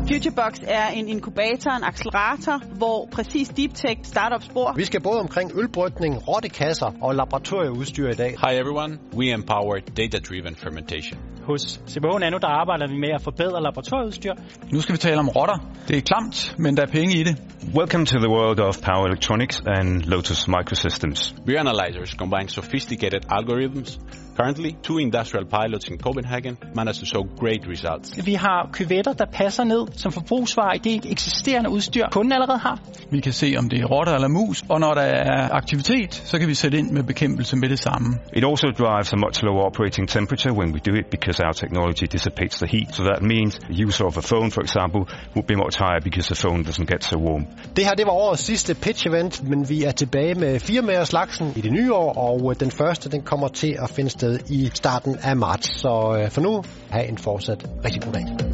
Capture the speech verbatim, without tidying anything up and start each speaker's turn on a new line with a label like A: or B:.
A: FutureBox er en inkubator, en accelerator, hvor præcis deep tech startups bor.
B: Vi skal både omkring ølbrygning, rottekasser og laboratorieudstyr i dag.
C: Hi everyone, we empower data-driven fermentation.
D: Hos C B H Nano der arbejder vi med at forbedre laboratorieudstyr.
E: Nu skal vi tale om rotter. Det er klamt, men der er penge i det.
F: Welcome to the world of power electronics and Lotus Microsystems.
C: Beer analyzers combine sophisticated algorithms. Currently, two industrial pilots in Copenhagen managed to show great results.
D: Vi har kyvetter, der passer ned som forbrugsvarer i det eksisterende udstyr, kunden allerede har.
E: Vi kan se, om det er rotter eller mus, og når der er aktivitet, så kan vi sætte ind med bekæmpelse med det samme.
F: It also drives a much lower operating temperature when we do it because our technology dissipates the heat. So that means the user of a phone, for example, would be much higher because the phone doesn't get so warm.
B: Det her, det var årets sidste pitch-event, men vi er tilbage med firmaerslagsen i det nye år, og den første, den kommer til at finde sted i starten af marts. Så for nu, have en fortsat rigtig god dag.